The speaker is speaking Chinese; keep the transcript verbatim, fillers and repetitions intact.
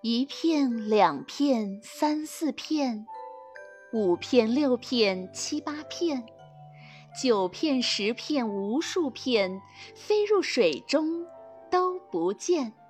一片两片三四片，五片六片七八片，九片十片无数片，飞入水中都不见。